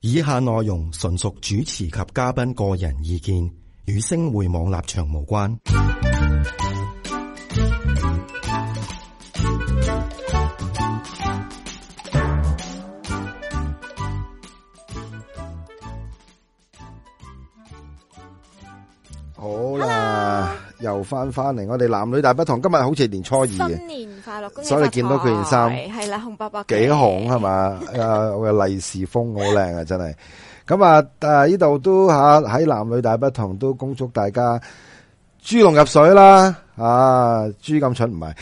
以下內容純屬主持及嘉賓個人意見，與星匯網立場無關。 好啦，又翻嚟，我哋男女大不同。今日好似年初二嘅， 新年快樂，恭喜發財。 所以你見到佢件衫係啦，紅白白， 幾紅係嘛？我嘅利是封好靚啊，真係。咁啊，呢度都吓喺男女大不同都恭祝大家豬籠入水啦！啊，豬咁蠢唔係？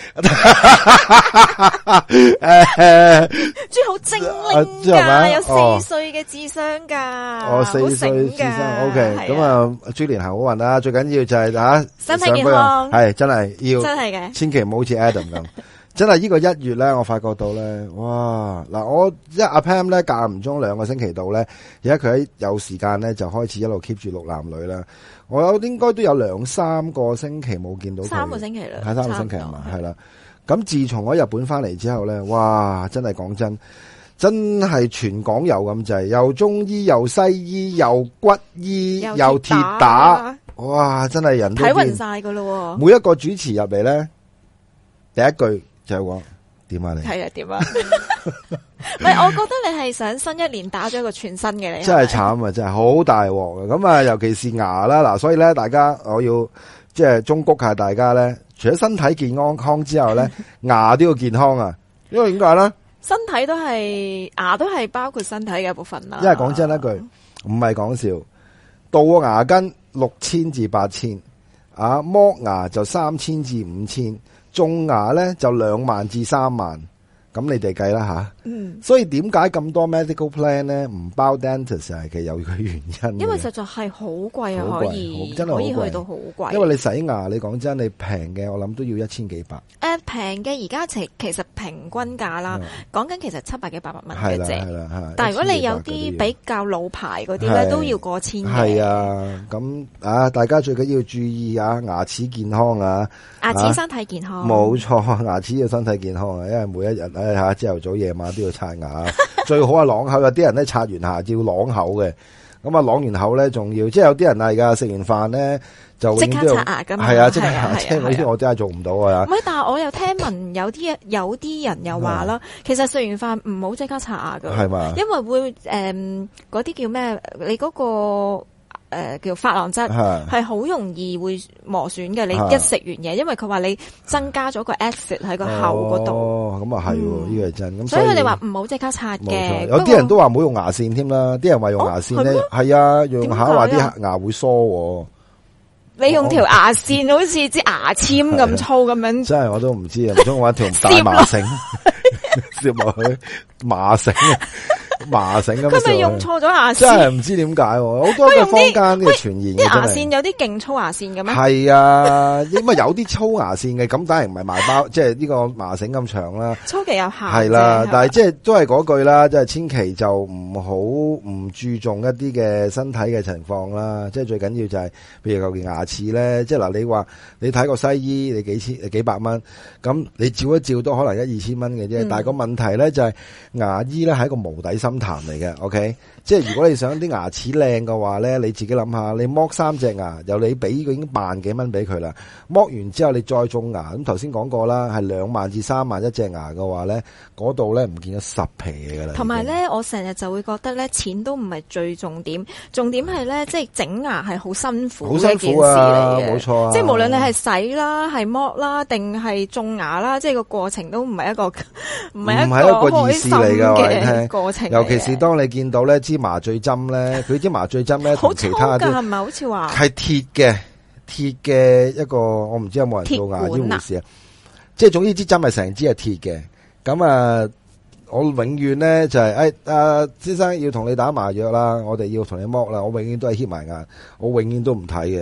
豬好精靈噶，有4歲嘅智商噶， 哦，4歲智商 ，OK。咁啊，豬年行好運啦！最緊要就係身體健康， 係真係要， 真係嘅， 千祈唔好似 Adam 咁。真係呢個1月咧，我發覺到咧，哇！嗱，我阿 Pam 咧間唔中2個星期度咧，而家佢喺有時間咧就開始一路 keep 住錄男女啦。我有應該都有2-3個星期冇見到佢 ，3個星期啦， 係3個星期係嘛？係啦。咁自從我喺日本翻嚟之後咧，哇！真係講真係全港有咁滯，又中醫又西醫又骨醫又鐵打，哇！真係人都睇暈晒噶咯。 每一個主持入嚟咧，第一句就係話點啊你？ 係啊點啊？唔係，我覺得你係想新一年打咗一個全新嘅你。 真係慘啊！真係好大鑊嘅。咁啊，尤其是牙啦，嗱，所以咧，大家我要即係忠告下大家咧，除咗身體健康之後咧，牙都要健康啊！因為點解咧？ 身體都係牙都係包括身體嘅一部分啦。 因為講真一句，唔係講笑，杜個牙根6000至8000，剝牙就3000至5000，種牙咧就2萬至3萬。咁你哋計啦吓，所以點解咁多 medical plan 咧唔包 dentist 係其實有佢原因， 因為實在係好貴啊，可以真係好貴， 可以去到好貴。 因為你洗牙，你講真，你平嘅我諗都要1000幾百。 平嘅而家其實平均價啦，講緊其實700幾800蚊嘅啫。 係啦， 但係如果你有啲比較老牌嗰啲咧，都要過千嘅。 係啊，咁大家最緊要注意牙齒健康啊， 牙齒身體健康。 冇錯，牙齒要身體健康啊，因為每一日朝頭早夜晚都要刷牙，最好係啷口。有啲人咧刷完牙要啷口嘅，咁啷完口咧仲要，即係有啲人而家食完飯咧就即刻刷牙噶嘛， 係啊，即刻刷牙，即係呢啲我真係做唔到啊。 唔係，但係我又聽聞有啲人又話啦，其實食完飯唔好即刻刷牙噶，係嘛，因為會嗰啲叫咩？你嗰個。叫珐琅質係好容易會磨損嘅，你一食完嘢，因為佢話你增加咗個 acid 喺個口嗰度。哦，咁啊係，呢個係真。咁所以佢哋話唔好即刻刷嘅。 有啲人都話唔好用牙線添啦，啲人話用牙線咧，係啊，用下話啲牙會疏。 你用條牙線好似支牙籤咁粗咁樣， 真係我都唔知啊，唔通我揾條大麻繩攝落去麻繩。麻繩咁， 佢咪用錯咗牙線？ 真係唔知點解，好多嘅坊間嘅傳言。 啲牙線有啲勁粗牙線嘅咩？ 係啊，因為有啲粗牙線嘅，咁當然唔係麻包，即係呢個麻繩咁長啦。 粗嘅有限。 係啦，但係即係都係嗰句啦，即係千祈就唔注重一啲嘅身體嘅情況啦。即係最緊要就係，譬如舊件牙齒咧，即係嗱，你話你睇個西醫，你幾百蚊，咁你照一照都可能1-2千蚊嘅啫。但係個問題咧就係牙醫咧係一個無底深潭嚟嘅 ，OK， 即係如果你想啲牙齒靚嘅話咧，你自己諗下，你剝3隻牙，由你俾佢已經1萬幾蚊俾佢啦，剝完之後你再種牙，咁頭先講過啦，係2萬至3萬一隻牙嘅話咧，嗰度咧唔見咗10皮嘢噶啦。 同埋咧，我成日就會覺得咧，錢都唔係最重點，重點係咧，即係整牙係好辛苦嘅一件事嚟嘅， 冇錯啊， 即係無論你係洗啦、係剝啦，定係種牙啦，即係個過程都唔係一個開心嘅過程。 尤其是當你見到咧支麻醉針咧，佢支麻醉針咧同其他啲係咪好似話係鐵嘅一個，我唔知有冇人做牙呢回事啊？即係總之支針係成支係鐵嘅。咁我永遠咧就係先生要同你打麻藥啦，我哋要同你剝啦，我永遠都係掀埋眼，我永遠都唔睇嘅。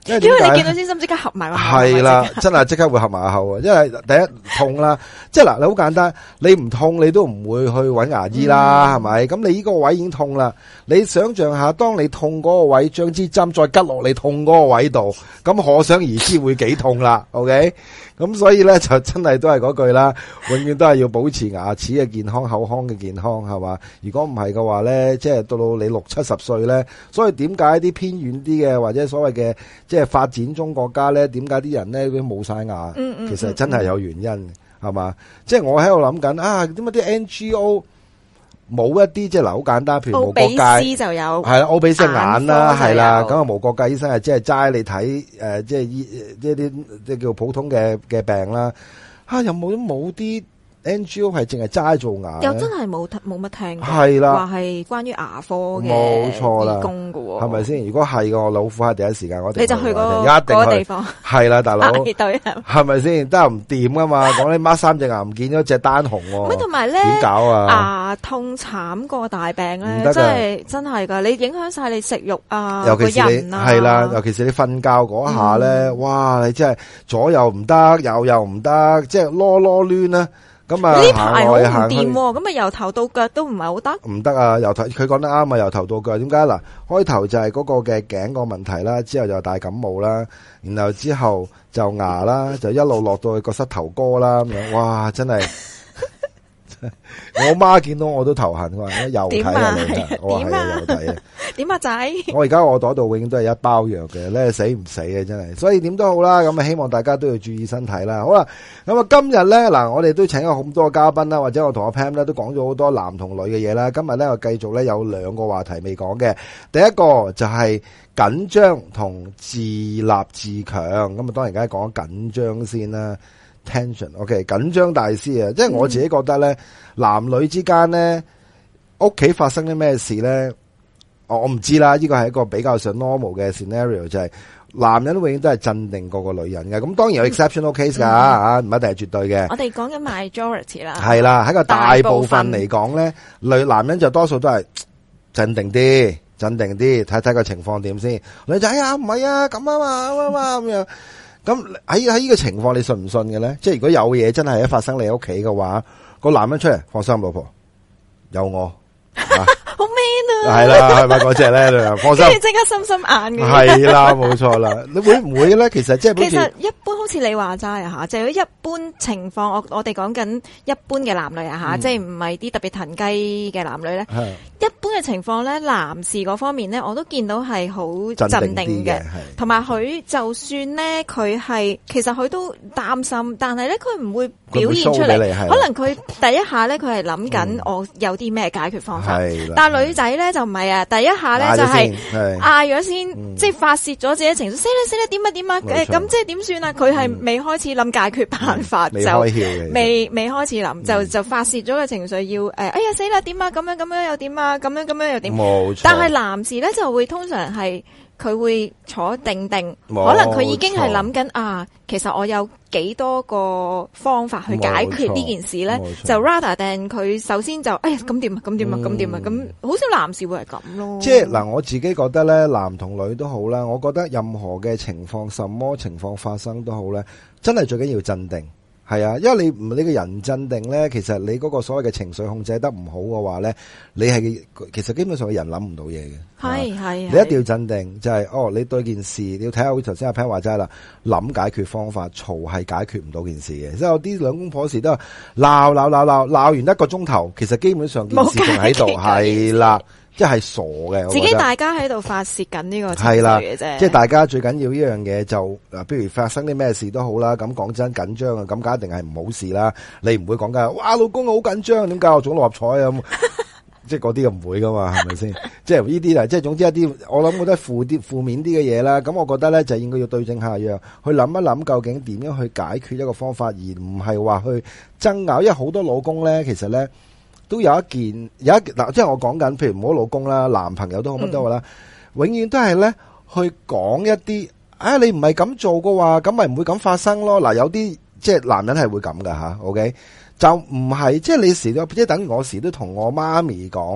因為你見到先心即刻合埋個口。 係啦，真係即刻會合埋個口啊！因為第一痛啦，即係嗱，你好簡單，你唔痛你都唔會去揾牙醫啦，係咪？咁你呢個位已經痛啦，你想象下，當你痛嗰個位，將支針再拮落你痛嗰個位度，咁可想而知會幾痛啦。OK， 咁所以咧就真係都係嗰句啦，永遠都係要保持牙齒嘅健康、口腔嘅健康，係嘛？如果唔係嘅話咧，即係到你60-70歲咧，所以點解啲偏遠啲嘅或者所謂嘅即係發展中國家咧，點解啲人咧都冇晒牙？其實真係有原因，係嘛？即係我喺度諗緊啊，點解啲 NGO 冇一啲即係嗱，好簡單，譬如無國界就有係啦，奧比斯眼啦，係啦，咁啊無國界醫生係即係齋你睇即係啲即係叫普通嘅病啦。有冇啲 NGO 係淨係齋做牙？ 又真係冇乜聽過， 係啦， 話係關於牙科嘅冇錯啦， 義工㗎喎， 係咪先？如果係嘅，老虎係第一時間我哋你就去嗰個地方， 係啦，大佬排隊係咪先？得唔掂噶嘛？講你孖3隻牙唔見咗隻單紅喎， 同埋咧點搞啊？ 牙痛慘過大病咧，真係噶，你影響晒你食慾啊， 尤其是你係啦，尤其是你瞓覺嗰下咧，哇！你真係左右唔得，右又唔得，即係囉囉攣啦。咁啊， 呢排好唔掂，咁啊由頭到腳都唔係好得， 唔得啊！由頭佢講得啱啊，由頭到腳點解嗱？開頭就係嗰個嘅頸個問題啦，之後就大感冒啦，然後之後就牙啦，就一路落到去個膝頭哥啦咁樣，哇！真係我媽見到我都頭痕，我話又睇啊你，我話係啊又睇啊， 點啊仔？ 我而家我袋度永遠都係一包藥嘅，咧死唔死嘅真係，所以點都好啦，咁啊希望大家都要注意身體啦。好啦，咁啊今日咧嗱，我哋都請咗好多嘉賓啦，或者我同阿 Pam 咧都講咗好多男同女嘅嘢啦。今日咧我繼續咧有2個話題未講嘅，第一個就係緊張同自立自強，咁啊當然梗係講緊張先啦。Tension，OK， 緊張大師啊！即係我自己覺得咧，男女之間咧，屋企發生啲咩事咧，我唔知啦。呢個係一個比較上 normal 嘅 scenario， 就係男人永遠都係鎮定過個女人嘅。咁當然有 exceptional case 噶吓，唔一定係絕對嘅。 我哋講緊 majority 啦，係啦，喺個大部分嚟講咧，男人就多數都係鎮定啲，睇睇個情況點先。女仔啊，唔係啊，咁啊嘛，咁樣。咁喺呢個情況，你信唔信嘅咧？即係如果有嘢真係一發生你屋企嘅話，個男人出嚟，放心，老婆有我。 好 man 啊！ 係啦，係咪嗰隻咧？放心， 即刻心心眼嘅。 係啦，冇錯啦。你會唔會咧？其實即係其實一般好似你話齋啊吓，就係一般情況，我哋講緊一般嘅男女啊吓，即係唔係啲特別騰雞嘅男女咧。一般嘅情況咧，男士嗰方面咧，我都見到係好鎮定嘅，同埋佢就算咧，佢係其實佢都擔心，但係咧佢唔會表現出嚟。可能佢第一下咧，佢係諗緊我有啲咩解決方法。但係女仔咧就唔係啊，第一下咧就係嗌咗先，即係發洩咗自己情緒，死啦點啊，咁即係點算啊？佢係未開始諗解決辦法，就未開始諗，就發洩咗個情緒，要哎呀死啦點啊，咁樣又點啊，咁樣又點？冇錯。但係男士咧就會通常係佢會坐定定，可能佢已經係諗緊啊，其實我有幾多個方法去解決呢件事咧，就 rather than 佢首先就哎呀咁點啊，咁好少男士會係咁咯。 即係嗱，我自己覺得咧，男同女都好啦，我覺得任何嘅情況，什麼情況發生都好咧，真係最緊要鎮定。係啊，因為你個人鎮定咧，其實你嗰個所謂嘅情緒控制得唔好嘅話咧，你係其實基本上個人諗唔到嘢嘅。係，你一定要鎮定，就係你對件事你要睇下，好似頭先阿 Pan 話齋啦，諗解決方法，嘈係解決唔到件事嘅。即係有啲兩公婆時都係鬧完1個鐘頭，其實基本上件事仲喺度，係啦。即係傻嘅， 自己大家喺度發洩緊呢個情緒嘅啫。 即係大家最緊要呢樣嘢就嗱，比如發生啲咩事都好啦。咁講真緊張啊，咁梗一定係唔好事啦。你唔會講緊哇，老公好緊張，點解我中六合彩啊？即係嗰啲唔會噶嘛，係咪先？即係呢啲即係總之一啲，我諗覺得負面啲嘅嘢啦。咁我覺得咧就應該要對症下藥，去諗一諗究竟點樣去解決一個方法，而唔係話去爭拗。因為好多老公咧，其實咧。都有一嗱，即係我講緊，譬如唔好老公啦，男朋友都好乜都好啦，永遠都係咧去講一啲，你唔係咁做嘅話，咁咪唔會咁發生咯。嗱，有啲即係男人係會咁噶吓 ，OK， 就唔係即係你時都即係等於我時都同我媽咪講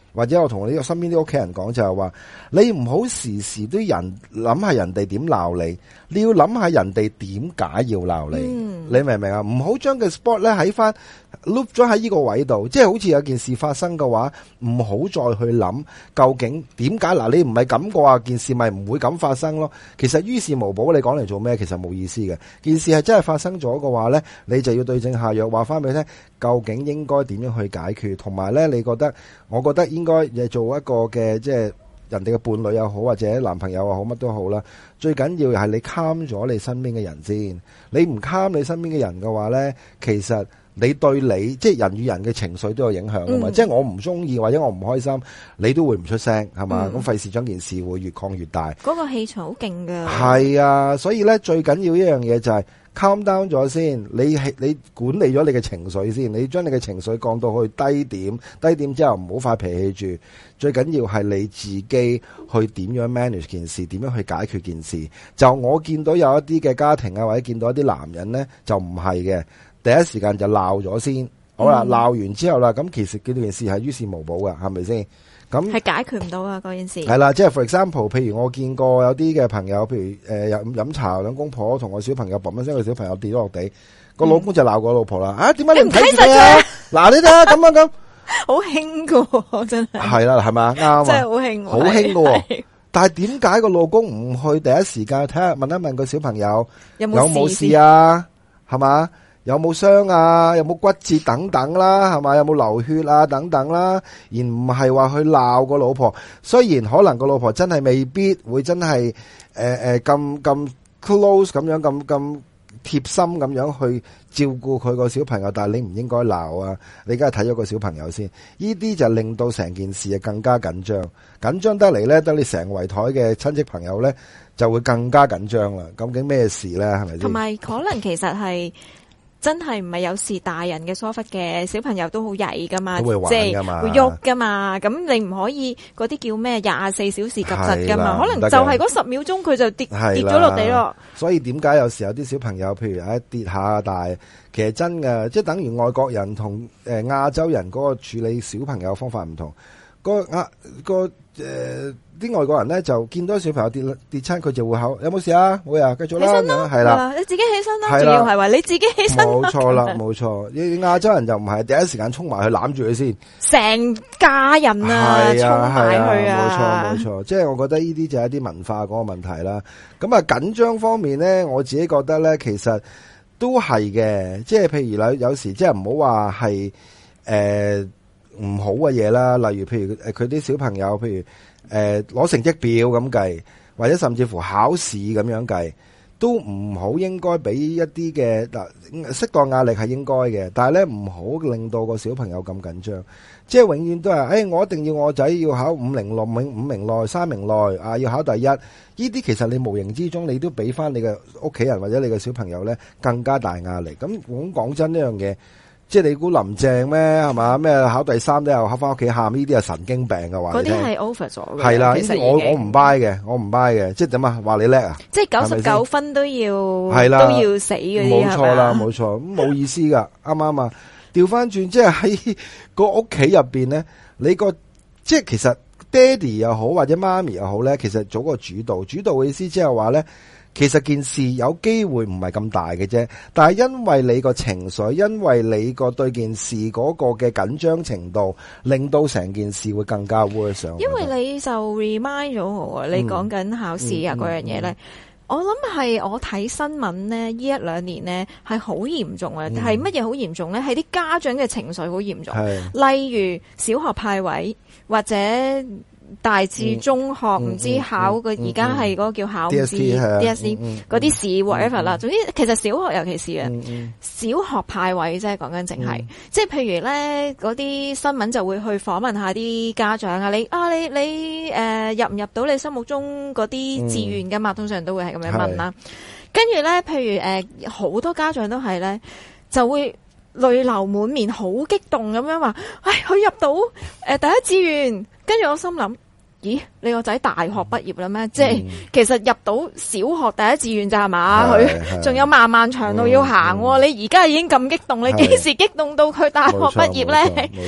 或者我同呢個身邊啲屋企人講就係話，你唔好時時都諗下人哋點鬧你，你要諗下人哋點解要鬧你，你明唔明啊？唔好將個 spot 咧喺翻 loop 咗喺呢個位度，即係好似有件事發生嘅話，唔好再去諗究竟點解。嗱，你唔係咁嘅話，件事咪唔會咁發生咯。其實於事無補，你講嚟做咩？其實冇意思嘅。件事係真係發生咗嘅話咧，你就要對症下藥，話翻俾你聽，究竟應該點樣去解決，同埋咧，我覺得應該做一個嘅即係人哋嘅伴侶又好，或者男朋友又好，乜都好啦。最緊要係你 calm 咗你身邊嘅人先。你唔 calm 你身邊嘅人嘅話咧，其實你對你即係人與人嘅情緒都有影響噶嘛。即係我唔中意或者我唔開心，你都會唔出聲係嘛？咁費事將件事會越擴越大。嗰個氣場好勁噶。係啊，所以咧最緊要一樣嘢就係calm down 咗先，你管理咗你嘅情緒先，你將你嘅情緒降到去低點，低點之後唔好發脾氣住，最緊要係你自己去點樣 manage 件事，點樣去解決件事。就我見到有一啲嘅家庭啊，或者見到一啲男人咧，就唔係嘅，第一時間就鬧咗先，好啦，鬧完之後啦，咁其實呢件事係於事無補噶，係咪先？咁係解決唔到啊！嗰件事係啦，即係 for example，譬如我見過有啲嘅朋友，譬如飲茶兩公婆同個小朋友嘣一聲，個小朋友跌咗落地，個老公就鬧個老婆啦。啊，點解你唔睇實佢？嗱，你睇下咁，好興噶，真係係啦，係咪？啱啊，真係好興，好興噶。但係點解個老公唔去第一時間睇下問一問個小朋友有冇事啊？係嘛？有冇傷啊？有冇骨折等等啦，係嘛？有冇流血啊？等等啦，而唔係話去鬧個老婆。雖然可能個老婆真係未必會真係咁 close 咁樣咁貼心咁樣去照顧佢個小朋友，但係你唔應該鬧啊！你梗係睇咗個小朋友先，呢啲就令到成件事啊更加緊張，緊張得嚟咧，等你成圍台嘅親戚朋友咧就會更加緊張啦。究竟咩事咧？係咪先？同埋可能其實係。真係唔係有時大人嘅疏忽嘅，小朋友都好曳噶嘛，即係會喐噶嘛。咁你唔可以嗰啲叫咩24小時及實噶嘛？可能就係嗰10秒鐘佢就跌咗落地咯。所以點解有時有啲小朋友，譬如跌下，但係其實真嘅，即係等於外國人同亞洲人嗰個處理小朋友方法唔同。啲外國人咧就見到小朋友跌親，佢就會考有冇事啊？會啊，繼續啦，係啦，你自己起身啦，仲要係話你自己起身。冇錯啦，冇錯。亞洲人就唔係第一時間衝埋去攬住佢先，成家人啊，衝埋去啊，冇錯。即係我覺得呢啲就係一啲文化嗰個問題啦。咁啊緊張方面咧，我自己覺得咧，其實都係嘅。即係譬如有時即係唔好話係唔好嘅嘢啦，例如譬如佢啲小朋友，譬如攞成績表咁計，或者甚至乎考試咁樣計，都唔好應該俾一啲嘅適當壓力係應該嘅，但係咧唔好令到個小朋友咁緊張，即係永遠都係我一定要我仔要考5名內3名內啊，要考第一。呢啲其實你無形之中你都俾翻你嘅屋企人或者你嘅小朋友咧更加大壓力。咁講真呢樣嘢。即係你估林鄭咩係嘛？咩考第3都有考翻屋企喊，呢啲係神經病嘅話。嗰啲係 over 咗嘅。係啦，呢啲我唔 buy 嘅，我唔 buy 嘅。即係點啊？話你叻啊？即係99分都要都要死嗰啲係嘛？冇錯啦，冇錯，咁冇意思噶，啱唔啱啊？調翻轉，即係喺個屋企入邊咧，你個即係其實爹哋又好或者媽咪又好咧，其實做個主導嘅意思即係話咧。其實件事有機會唔係咁大嘅啫，但係因為你個情緒，因為你個對件事嗰個嘅緊張程度，令到成件事會更加 worse。因為你就 remind 咗我，你講緊考試啊嗰樣嘢咧，我諗係我睇新聞咧，呢1-2年咧係好嚴重啊，係乜嘢好嚴重咧？係啲家長嘅情緒好嚴重，例如小學派位或者。大至中學唔知考嘅而家係嗰個叫考唔知 DSE 嗰啲試 whatever 啦。總之其實小學尤其是啊，小學派位啫，講緊淨係即係譬如咧嗰啲新聞就會去訪問下啲家長啊，你入唔入到你心目中嗰啲志願噶嘛？通常都會係咁樣問啦。跟住咧，譬如好多家長都係咧就會淚流滿面，好激動咁樣話，佢入到第一志願。跟住我心諗，咦？你個仔大學畢業啦咩？即係其實入到小學第一志願咋係嘛？佢仲有漫漫長路要行。你而家已經咁激動，你幾時激動到佢大學畢業咧？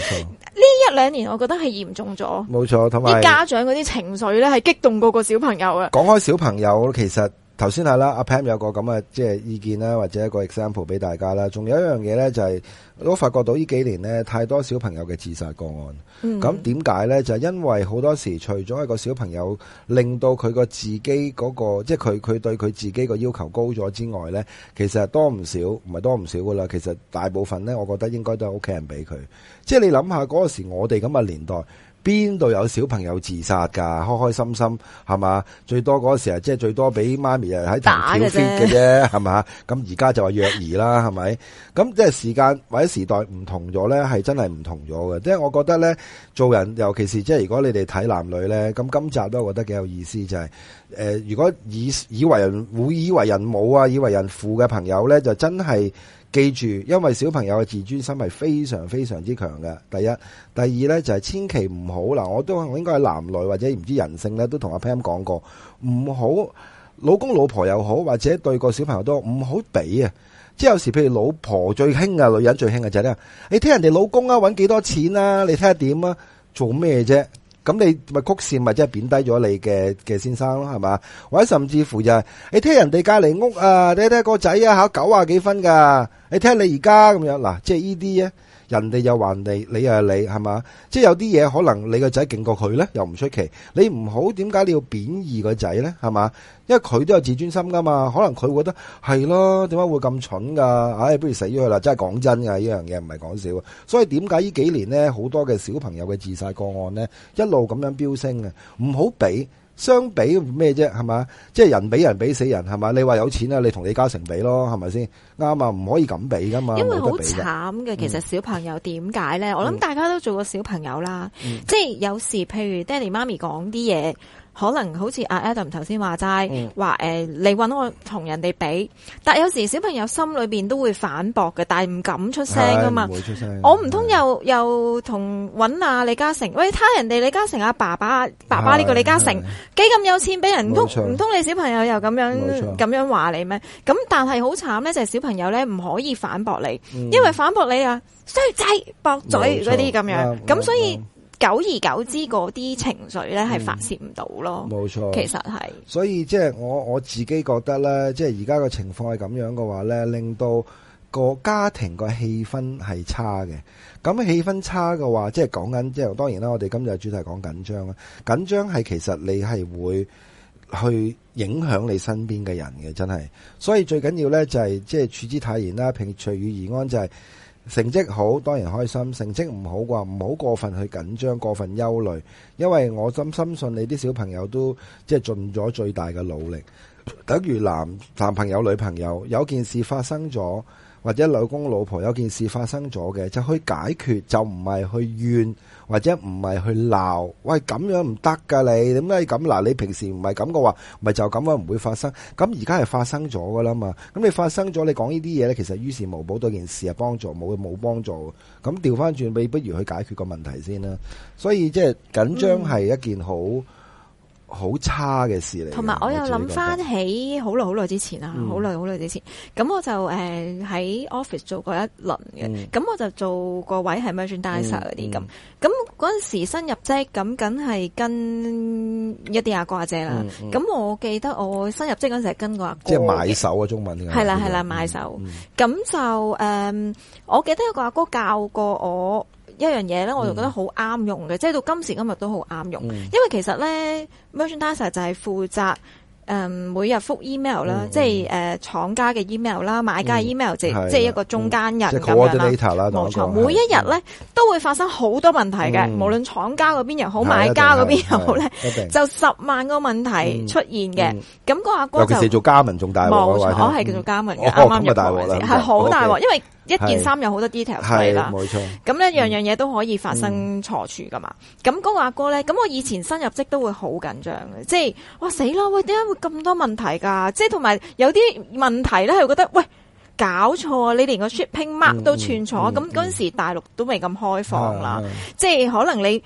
一兩年我覺得係嚴重咗， 冇錯，同埋啲家長嗰啲情緒咧係激動過個小朋友啊。 講開小朋友，其實頭先係啦，阿 Pam 有個咁嘅即係意見啦，或者一個 example 俾大家啦。仲有一樣嘢咧，就係我都發覺到呢幾年咧，太多小朋友嘅自殺個案。咁點解咧？就係因為好多時除咗一個小朋友令到佢個自己嗰個，即係佢對佢自己個要求高咗之外咧，其實多唔少，唔係多唔少噶啦。其實大部分咧，我覺得應該都係屋企人俾佢。即係你諗下嗰時我哋咁嘅年代。邊度有小朋友自殺噶？開開心心係嘛？最多嗰時即係最多俾媽咪喺度挑 fit 嘅啫，係嘛？咁而家就話虐兒啦，係咪？咁即係時間或者時代唔同咗咧，係真係唔同咗嘅。即係我覺得咧，做人尤其是即係如果你哋睇男女咧，咁今集都覺得幾有意思，就係如果以為人母啊，以為人父嘅朋友咧，就真係。記住，因為小朋友嘅自尊心係非常非常之強嘅。第一，第二咧就係千祈唔好嗱，我應該係男女或者唔知人性咧，都同阿 Pam 講過，唔好老公老婆又好，或者對個小朋友都唔好比啊。即係有時譬如老婆最興啊，女人最興嘅就係咧，你聽人哋老公啊搵幾多錢啊，你睇下點啊，做咩啫？咁你咪曲線咪即係貶低咗你嘅先生咯，係嘛？或者甚至乎就係你聽人哋隔籬屋啊，你睇個仔啊考90幾分噶，你聽你而家咁樣嗱，即係呢啲咧，人哋又話你又係你係嘛？即係有啲嘢可能你個仔勁過佢咧，又唔出奇。你唔好點解你要貶義個仔咧？係嘛？因為佢都有自尊心噶嘛，可能佢會覺得係咯，點解會咁蠢噶？唉，不如死咗佢啦！真係講真噶，呢樣嘢唔係講笑。所以點解呢幾年咧，好多嘅小朋友嘅自殺個案咧，一路咁樣飆升嘅，唔好比。相比咩啫？係嘛？即係人比人比死人係嘛？你話有錢啊，你同李嘉誠比咯，係咪先？啱啊，唔可以咁比噶嘛。 因為好慘嘅，其實小朋友點解咧？我諗大家都做過小朋友啦，即係有時譬如爹哋媽咪講啲嘢。可能好似阿 Adam 頭先話齋，話你搵我同人哋比，但有時小朋友心裏邊都會反駁嘅，但係唔敢出聲噶嘛。 唔會出聲。 我唔通又同搵阿李嘉誠，喂，睇人哋李嘉誠阿爸爸呢個李嘉誠幾咁有錢，俾人唔通你小朋友又咁樣話你咩？咁但係好慘咧，就係小朋友咧唔可以反駁你，因為反駁你啊衰仔駁嘴嗰啲咁樣，咁所以。久而久之，嗰啲情緒咧係發泄唔到咯。冇錯，其實係。 所以即係我自己覺得咧，即係而家個情況係咁樣嘅話咧，令到個家庭個氣氛係差嘅。咁氣氛差嘅話，即係講緊，即係當然啦。我哋今日主題講緊張啦，緊張係其實你係會去影響你身邊嘅人嘅，真係。所以最緊要咧就係即係處之泰然啦，平隨遇而安就係。成績好當然開心，成績唔好嘅話唔好過分去緊張，過分憂慮，因為我深信你啲小朋友都即係盡咗最大嘅努力。等於男朋友女朋友有件事發生咗，或者老公老婆有件事發生咗嘅，就去解決，就唔係去怨或者唔係去鬧。喂，咁樣唔得噶，你點解咁？嗱，你平時唔係咁嘅話，咪就咁樣唔會發生。咁而家係發生咗噶啦嘛。咁你發生咗，你講呢啲嘢咧，其實於事無補，對件事係幫助冇幫助。咁調翻轉，你不如去解決個問題先啦。所以即係緊張係一件好差嘅事嚟， 同埋我又諗翻起好耐之前啦，好耐之前，咁我就喺 office 做過一輪嘅，咁我就做個位係 merchandiser 嗰啲咁嗰陣時新入職，咁梗係跟一啲阿哥阿姐啦。咁我記得我新入職嗰陣時係跟個阿哥， 即係買手啊，中文係啦買手。咁就我記得有個阿哥教過我一樣嘢咧，我就覺得好啱用嘅，即係到今時今日都好啱用。因為其實咧 merchandiser 就係負責每日覆 email 啦，即係廠家嘅 email 啦，買家嘅 email 即係一個中間人咁樣啦。冇錯，每一日咧都會發生好多問題嘅，無論廠家嗰邊又好，買家嗰邊又好咧，就10萬個問題出現嘅。咁個阿哥就尤其是做加盟仲大鑊，冇錯，我係叫做加盟嘅，啱啱入大鑊啦，係好大鑊，因為一件衫有好多 details 嚟啦，冇錯。咁咧樣樣嘢都可以發生錯處噶嘛。咁嗰個阿哥咧，咁我以前新入職都會好緊張嘅，即係哇死啦！喂，點解會咁多問題㗎？即係同埋有啲問題咧，係覺得喂搞錯啊！你連個 shipping mark 都串錯。咁嗰陣時大陸都未咁開放啦，即係可能你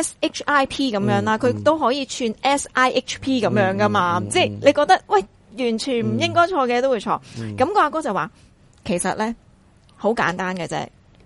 SHIP 咁樣啦，佢都可以串 SIHP 咁樣噶嘛。即係你覺得喂完全唔應該錯嘅都會錯。咁個阿哥就話其實咧。好簡單嘅啫，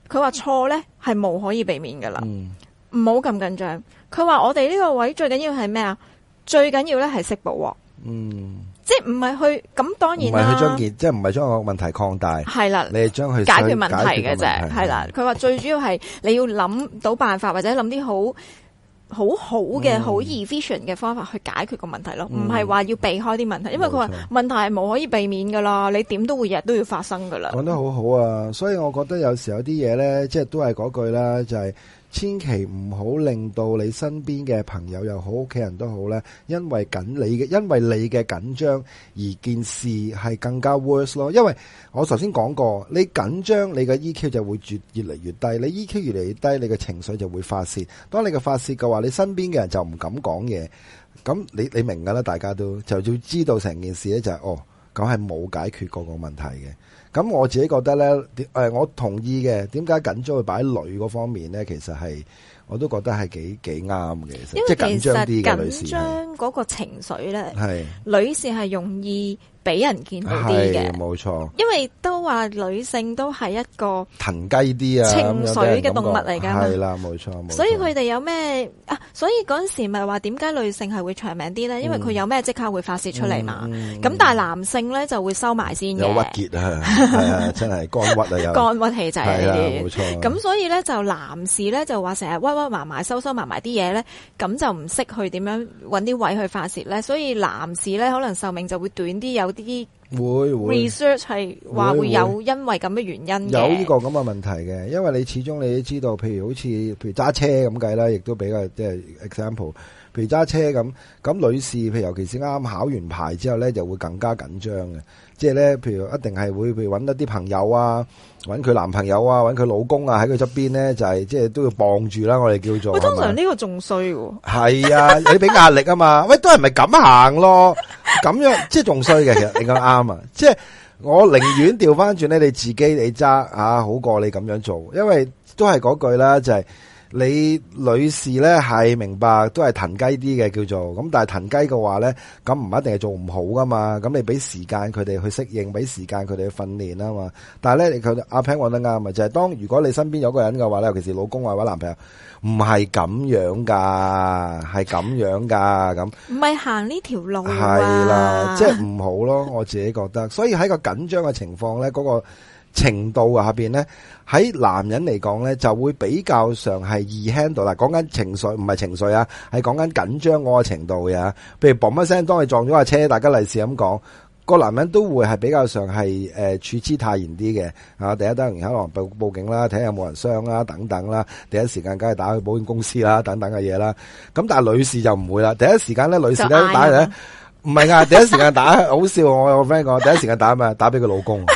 佢話錯咧係無可以避免噶啦，唔好咁緊張。佢話我哋呢個位最緊要係咩啊？最緊要咧係識補鑊，即係唔係去咁當然啦，唔係去將即係唔係將個問題擴大，係啦，你係將佢解決問題嘅啫，係啦。佢話最主要係你要諗到辦法，或者諗啲好嘅好 efficient 嘅方法去解決個問題咯，唔係話要避開啲問題，因為佢話問題係無可以避免噶啦，你點都會日日都要發生噶啦。 講得好好啊，所以我覺得有時候有啲嘢咧，即係都係嗰句啦，就係千祈唔好令到你身邊嘅朋友又好，屋企人都好咧，因為你嘅緊張而件事係更加 worse 咯。因為我頭先講過，你緊張，你嘅 EQ 就會越嚟越低，你 EQ 越嚟越低，你嘅情緒就會發洩。當你嘅發洩嘅話，你身邊嘅人就唔敢講嘢。咁你明噶啦，大家都就要知道成件事咧就係咁係冇解決過個問題嘅。咁我自己覺得咧，我同意嘅。點解緊張會擺喺女嗰方面咧？其實係我都覺得係幾啱嘅。即係緊張啲嘅女士，緊張嗰個情緒咧，係女士係容易俾人見到啲嘅， 冇錯。 因為都話女性都係一個騰雞啲啊情緒嘅動物嚟噶， 係啦，冇錯。 所以佢哋有咩啊？所以嗰陣時咪話點解女性係會長命啲咧？因為佢有咩即刻會發洩出嚟嘛。咁但係男性咧就會收埋先嘅， 有鬱結啊，係啊，真係肝鬱啊，有肝鬱氣滯呢啲， 冇錯。 咁所以咧就男士咧就話成日屈埋埋收埋埋啲嘢咧，咁就唔識去點樣搵啲位去發洩咧，所以男士咧可能壽命就會短啲，有啲會 research 係話會有因為咁嘅原因嘅， 有呢個咁嘅問題嘅，因為你始終你都知道，譬如揸車咁計啦，亦都比較即係 example， 譬如揸車咁女士，譬如尤其是啱考完牌之後咧，就會更加緊張嘅，即係咧，譬如一定係會譬如搵一啲朋友啊，搵佢男朋友啊，搵佢老公啊喺佢側邊咧，就係即係都要傍住啦，我哋叫做。 喂，通常呢個仲衰喎。 係啊，你俾壓力啊嘛，喂，都係咪咁行咯？咁樣即係仲衰嘅，其實你講啱啊！即係我寧願調翻轉咧，你自己你揸好過你咁樣做，因為都係嗰句啦，就係你女士咧係明白都係騰雞啲嘅叫做，咁但係騰雞嘅話咧，咁唔一定係做唔好噶嘛，咁你俾時間佢哋去適應，俾時間佢哋去訓練啊嘛。但係咧，阿 Pan 講得啱啊，就係當如果你身邊有個人嘅話咧，尤其是老公或者男朋友。唔係咁樣噶，係咁樣噶，咁唔係行呢條路啊， 係啦，即係唔好咯，我自己覺得。所以喺個緊張嘅情況咧，嗰個程度下邊咧，喺男人嚟講咧，就會比較上係易 handle 啦。講緊情緒，唔係情緒啊，係講緊緊張嗰個程度嘅。譬如嘣一聲，當你撞咗架車，大家例示咁講。個男人都會係比較上係處之泰然啲嘅啊！第一當然可能報警啦，睇下有冇人傷啦，等等啦。第一時間梗係打去保險公司啦，等等嘅嘢啦。咁但係女士就唔會啦。第一時間咧，女士咧打嚟咧，唔係啊！第一時間打好笑，我有個 friend 講，第一時間打咩？打俾佢老公。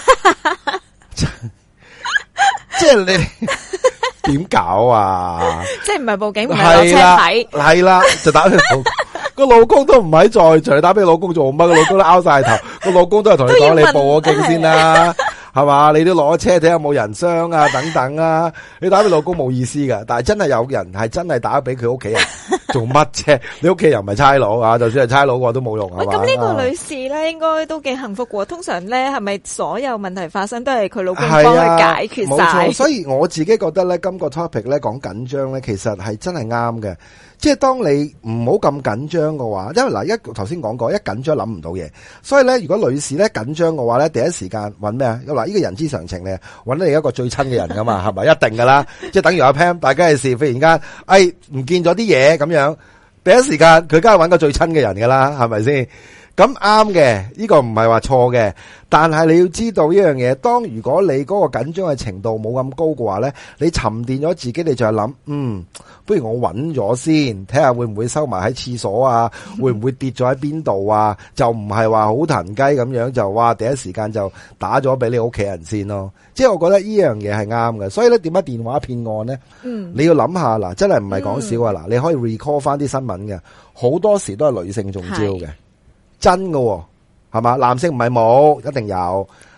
即係你點搞啊？即係唔係報警，唔係落車睇， 係啦，就打俾佢老公。個老公都唔喺在場，你打俾老公做乜？個老公都拗晒頭，個老公都係同你講，你報咗警先啦，係嘛？你都攞車睇下有冇人傷啊，等等啊。你打俾老公冇意思噶，但係真係有人係真係打俾佢屋企人做乜啫？你屋企人唔係差佬啊，就算係差佬嘅話都冇用係嘛？ 咁呢個女士咧，應該都幾幸福嘅。通常咧，係咪所有問題發生都係佢老公幫佢解決晒？ 冇錯，所以我自己覺得咧，今個 topic 咧講緊張咧，其實係真係啱嘅。即係當你唔好咁緊張嘅話，因為嗱頭先講過，一緊張諗唔到嘢，所以咧如果女士咧緊張嘅話咧，第一時間揾咩啊？嗱，呢個人之常情咧，揾你一個最親嘅人噶嘛，係咪？一定噶啦，即係等於阿 Pam，大家嘅事忽然間，唔見咗啲嘢咁樣，第一時間佢梗係揾個最親嘅人噶啦，係咪先？咁啱嘅，呢個唔係話錯嘅，但係你要知道一樣嘢，當如果你嗰個緊張嘅程度冇咁高嘅話咧，你沉澱咗自己，你就係諗，不如我揾咗先，睇下會唔會收埋喺廁所啊，會唔會跌咗喺邊度啊？就唔係話好騰雞咁樣就哇第一時間就打咗俾你屋企人先咯。即係我覺得呢樣嘢係啱嘅，所以咧點解電話騙案咧？你要諗下嗱，真係唔係講笑啊！嗱，你可以 recall 翻啲新聞嘅，好多時都係女性中招嘅。真嘅係嘛？男性唔係冇，一定有，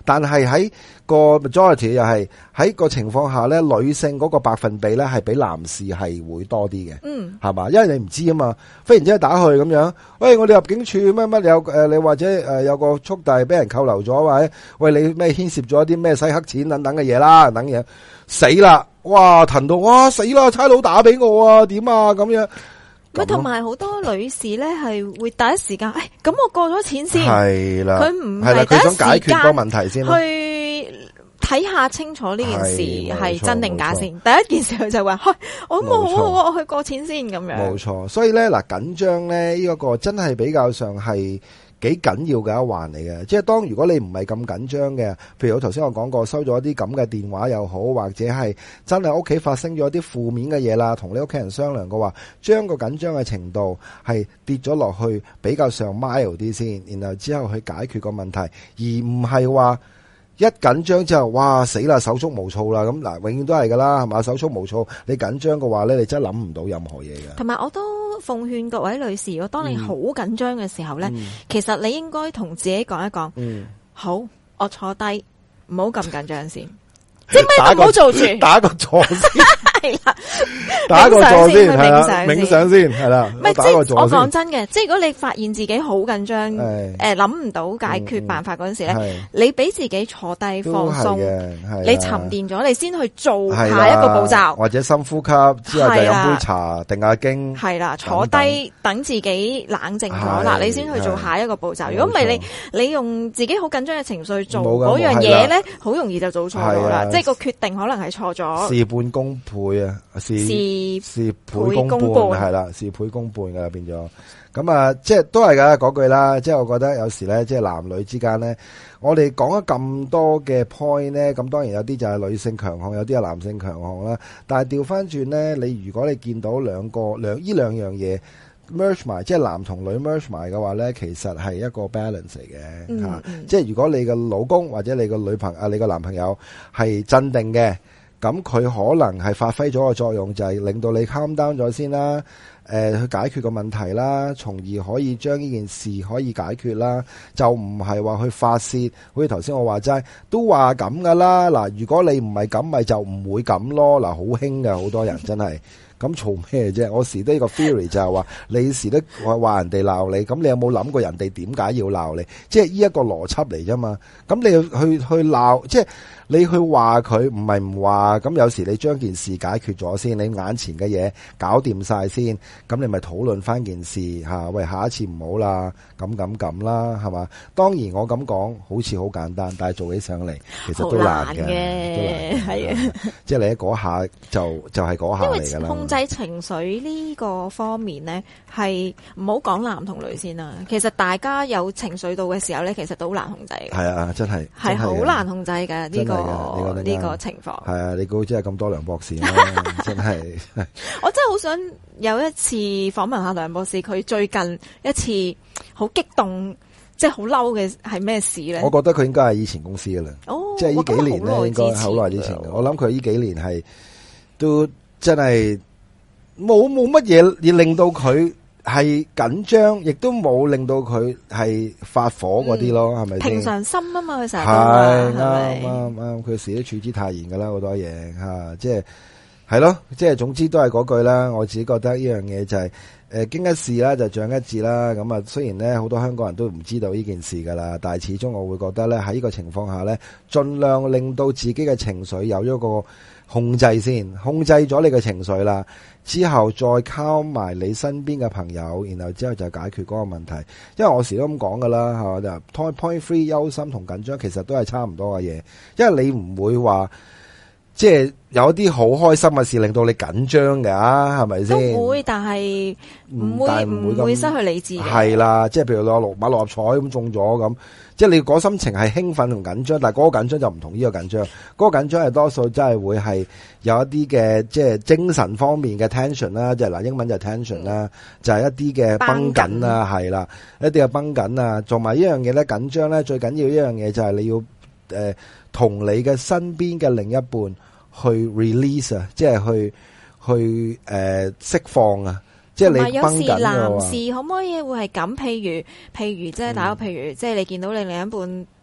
但係喺個 majority 又係喺個情況下咧，女性嗰個百分比咧係比男士係會多啲嘅，係嘛？因為你唔知啊嘛，忽然之間打去咁樣，喂，我哋入境處乜乜有你或者有個速遞俾人扣留咗，或者喂你咩牽涉咗啲咩洗黑錢等等嘅嘢啦，等嘢死啦，哇騰到哇死啦，差佬打俾我啊，點啊咁樣。 咪同埋好多女士咧係會第一時間，咁我過咗錢先， 係啦， 佢唔係第一時間佢想解決個問題先去睇下清楚呢件事係真定假先。第一件事佢就話，我冇好，我去過錢先咁樣。 冇錯，所以咧嗱緊張咧呢一個真係比較上係幾緊要嘅一環嚟嘅，即係當如果你唔係咁緊張嘅，譬如我頭先我講過收咗一啲咁嘅電話又好，或者係真係屋企發生咗啲負面嘅嘢啦，同你屋企人商量嘅話，將個緊張嘅程度係跌咗落去比較上 mild 啲先，然後之後去解決個問題，而唔係話一緊張之後，哇死啦，手足無措啦，咁嗱，永遠都係噶啦，係嘛，手足無措，你緊張嘅話咧，你真係諗唔到任何嘢嘅。 同埋我都奉勸各位女士，如果當你好緊張嘅時候咧，其實你應該同自己講一講，好，我坐低，唔好咁緊張先，即係咩都唔好做住， 打個坐先。 係啦， 打個坐先，係啦， 冥想先，係啦。 唔係，即係我講真嘅，即係如果你發現自己好緊張，諗唔到解決辦法嗰陣時咧，你俾自己坐低放鬆，你沉澱咗，你先去做下一個步驟， 或者深呼吸之後就飲杯茶定下經， 係啦，坐低等自己冷靜咗啦，你先去做下一個步驟。如果唔係你用自己好緊張嘅情緒做嗰樣嘢咧，好容易就做錯咗啦，即係個決定可能係錯咗， 事半功倍。事倍功半係啦，事倍功半噶啦變咗。咁啊，即係都係噶嗰句啦。即係我覺得有時咧，即係男女之間咧，我哋講咗咁多嘅 point 咧，咁當然有啲就係女性強項，有啲係男性強項啦。但係調翻轉咧，如果你見到呢兩樣嘢 merge 埋，即係男同女 merge 埋嘅話咧，其實係一個 balance 嚟嘅吓。即係如果你嘅老公或者你個女朋友、你個男朋友係鎮定嘅。咁佢可能係發揮咗個作用，就係令到你 calm down 咗先啦，去解決個問題啦，從而可以將呢件事可以解決啦，就唔係話去發泄。好似頭先我話齋，都話咁噶啦。嗱，如果你唔係咁，咪就唔會咁咯。嗱，好興嘅好多人真係。咁嘈咩啫？我時都呢個 theory 就係話，你時都話人哋鬧你，咁你有冇諗過人哋點解要鬧你？即係呢一個邏輯嚟啫嘛。咁你去鬧，即係你去話佢，唔係唔話。咁有時你將件事解決咗先，你眼前嘅嘢搞掂晒先，咁你咪討論翻件事吓。喂，下一次唔好啦，咁啦，係嘛？當然我咁講好似好簡單，但係做起上嚟其實都難嘅，係啊。即係你喺嗰下就係嗰下嚟噶啦。 控制情緒呢個方面咧，係唔好講男同女先啦。其實大家有情緒到嘅時候咧，其實都好難控制嘅。係啊，真係好難控制嘅呢個情況。 係啊，你估真係咁多梁博士咩？真係。 我真係好想有一次訪問下梁博士，佢最近一次好激動，即係好嬲嘅係咩事咧？我覺得佢應該係以前公司噶啦，即係呢幾年咧，應該好耐之前。我諗佢呢幾年係都真係。冇乜嘢而令到佢係緊張，亦都冇令到佢係發火嗰啲咯，係咪先？平常心啊嘛，佢成日都啱，佢時都處之泰然噶啦，好多嘢吓，即係咯，即係總之都係嗰句啦。我自己覺得呢樣嘢就係經一事啦，就長一智啦。咁啊，雖然咧好多香港人都唔知道呢件事噶啦，但係始終我會覺得咧喺呢個情況下咧，盡量令到自己嘅情緒有咗個控制先，控制咗你嘅情緒啦。之後再靠埋你身邊嘅朋友，然後之後就解決嗰個問題。因為我時都咁講噶啦，係嘛？Point 3憂心同緊張其實都係差唔多嘅嘢，因為你唔會話即係有啲好開心嘅事令到你緊張㗎，係咪先？都會，但係唔會失去理智。係啦，即係譬如你買六合彩咁中咗咁，即係你嗰心情係興奮同緊張，但係嗰個緊張就唔同呢個緊張。嗰個緊張係多數真係會係有一啲嘅即係精神方面嘅 tension 啦，即係嗱英文就 tension 啦，就係一啲嘅繃緊啦，係啦，一啲嘅繃緊啊，同埋呢樣嘢咧緊張咧最緊要一樣嘢就係你要同你嘅身邊嘅另一半去 release 啊，即係去釋放啊，即係你繃緊嘅話。有時男士可唔可以會係咁？譬如即係打個譬如，即係你見到你另一半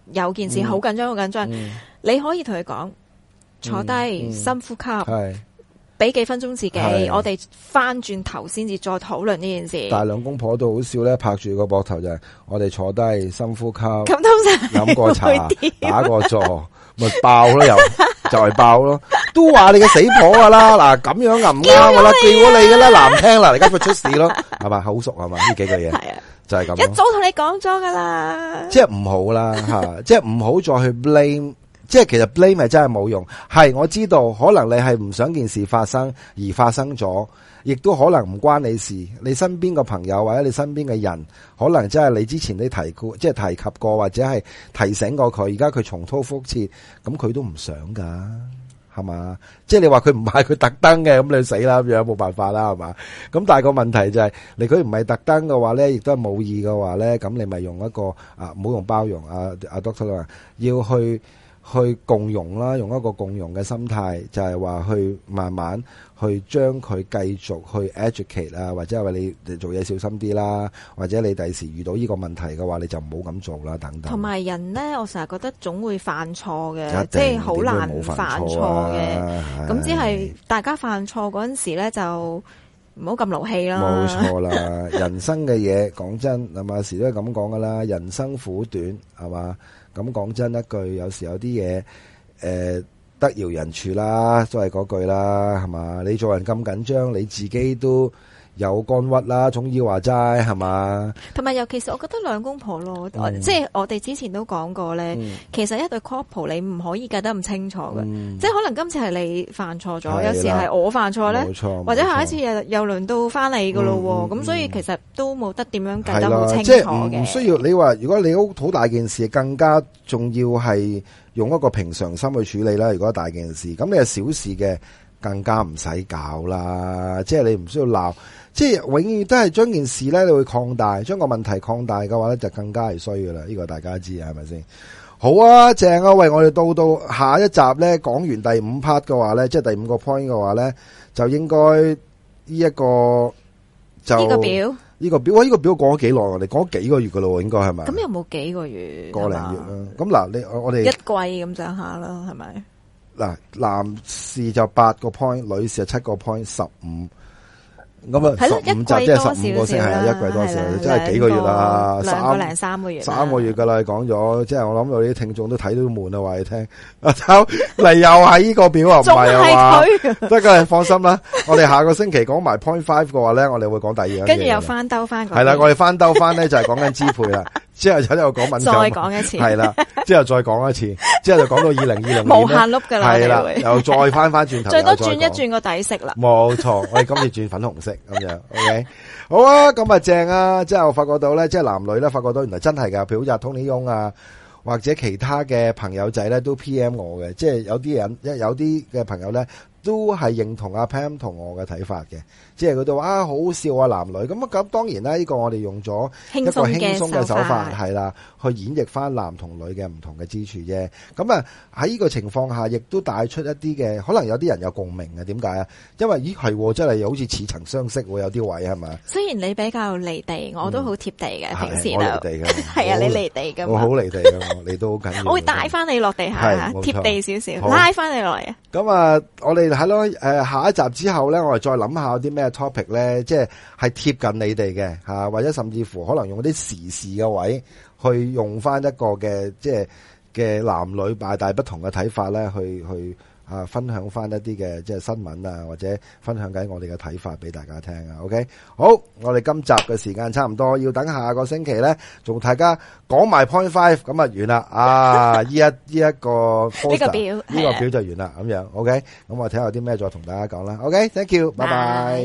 有件事好緊張好緊張，你可以同佢講坐低深呼吸，俾幾分鐘自己，我哋翻轉頭先至再討論呢件事。 但係兩公婆都好笑咧，拍住個膊頭就係我哋坐低深呼吸， 咁通常飲個茶，打個坐，咪爆咯，又就係爆咯。都話你嘅死婆噶啦，嗱咁樣唔啱噶啦，叫咗你噶啦，難聽啦，而家佢出事咯，係嘛，好熟係嘛呢幾句嘢，就係咁。 一早同你講咗噶啦， 即係唔好啦吓，即係唔好再去 blame。即係其實 blame 係真係冇用，係我知道可能你係唔想件事發生而發生咗，亦都可能唔關你事。你身邊個朋友或者你身邊嘅人，可能真係你之前你提過，即係提及過或者係提醒過佢，而家佢重蹈覆轍，咁佢都唔想噶，係嘛？即係你話佢唔係佢特登嘅，咁你死啦咁樣，冇辦法啦，係嘛？咁但係個問題就係，你佢唔係特登嘅話咧，亦都係冇意嘅話咧，咁你咪用一個唔好用包容Doctor 話要去共融啦，用一個共融嘅心態，就係話去慢慢去將佢繼續去 educate 啊，或者係話你做嘢小心啲啦，或者你第時遇到呢個問題嘅話，你就唔好咁做啦，等等。 同埋人咧，我成日覺得總會犯錯嘅，即係好難犯錯嘅。咁只係大家犯錯嗰陣時咧，就唔好咁勞氣啦。 冇錯啦，人生嘅嘢講真，係嘛，時都係咁講噶啦，人生苦短，係嘛。咁講真一句，有時有啲嘢，得饒人處啦，都係嗰句啦，係嘛？你做人咁緊張，你自己都有肝鬱啦，中醫話齋係嘛？ 同埋尤其是我覺得兩公婆咯，即係我哋之前都講過咧，其實一對 couple 你唔可以計得咁清楚嘅，即係可能今次係你犯錯咗，有時係我犯錯咧，或者下一次又輪到翻你噶咯，咁所以其實都冇得點樣計得好清楚嘅。 即係唔需要你話，如果你好大件事，更加重要係用一個平常心去處理啦。如果大件事，咁你係小事嘅，更加唔使搞啦。即係你唔需要鬧。即係永遠都係將件事咧，你會擴大，將個問題擴大嘅話咧，就更加係衰噶啦。呢個大家知係咪先？好啊，正啊！喂，我哋到下一集咧，講完第5 part 嘅話咧，即係第5個 point 嘅話咧，就應該呢一個就呢個表，呢個表講咗幾耐？我哋講咗幾個月噶咯，應該係咪？ 咁有冇幾個月？ 個零月啦。咁嗱，我哋一季咁上下啦，係咪？ 嗱，男士就8個 point， 女士就7個 point， 15。咁啊，15集即係15個星期，一季多少？即係幾個月啦，2個零3個月，3個月噶啦，講咗，即係我諗到啲聽眾都睇到悶啦，話你聽。阿秋嚟又係呢個表啊，唔係啊嘛，得噶，放心啦。我哋下個星期講埋 point 5嘅話咧，我哋會講第二樣嘢。 跟住又翻兜翻。 係啦，我哋翻兜翻咧就係講緊支配啦。之後又講敏感， 再講一次， 係啦，之後再講一次，之後就講到2020年無限碌噶啦， 係啦，又再翻轉頭， 最多轉一轉個底色啦。 冇錯，我哋今次轉粉紅色咁樣 ，OK， 好啊，咁啊正啊，即係我發覺到咧，即係男女咧，發覺到原來真係噶，譬如好似阿 Tony Young 啊，或者其他嘅朋友仔咧，都 PM 我嘅，即係有啲人，有啲嘅朋友咧，都係認同阿 Pam 同我嘅睇法嘅，即係佢哋話啊好笑啊男女咁當然啦，呢個我哋用咗一個輕鬆嘅手法係啦，去演繹翻男同女嘅唔同嘅之處啫。咁啊喺呢個情況下，亦都帶出一啲嘅，可能有啲人有共鳴嘅。點解啊？因為咦係真係好似似曾相識，有啲位係咪？ 雖然你比較離地，我都好貼地嘅，平時我離地嘅， 係啊，你離地嘅， 我好離地嘅，你都好緊要。 我會帶翻你落地下，貼地少少，拉翻你落嚟啊！ 咁啊，我哋係咯，下一集之後咧，我哋再諗下有啲咩 topic 咧，即係貼近你哋嘅吓，或者甚至乎可能用啲時事嘅位去用翻一個嘅即係嘅男女大不同嘅睇法咧，去分享翻一啲嘅即係新聞啊，或者分享緊我哋嘅睇法俾大家聽啊。OK， 好，我哋今集嘅時間差唔多，要等下個星期咧，仲大家講埋 point 5，咁啊完啦啊！呢一個 poster 呢個表就完啦，咁樣 OK， 咁我睇下有啲咩再同大家講啦。OK，thank you，拜拜。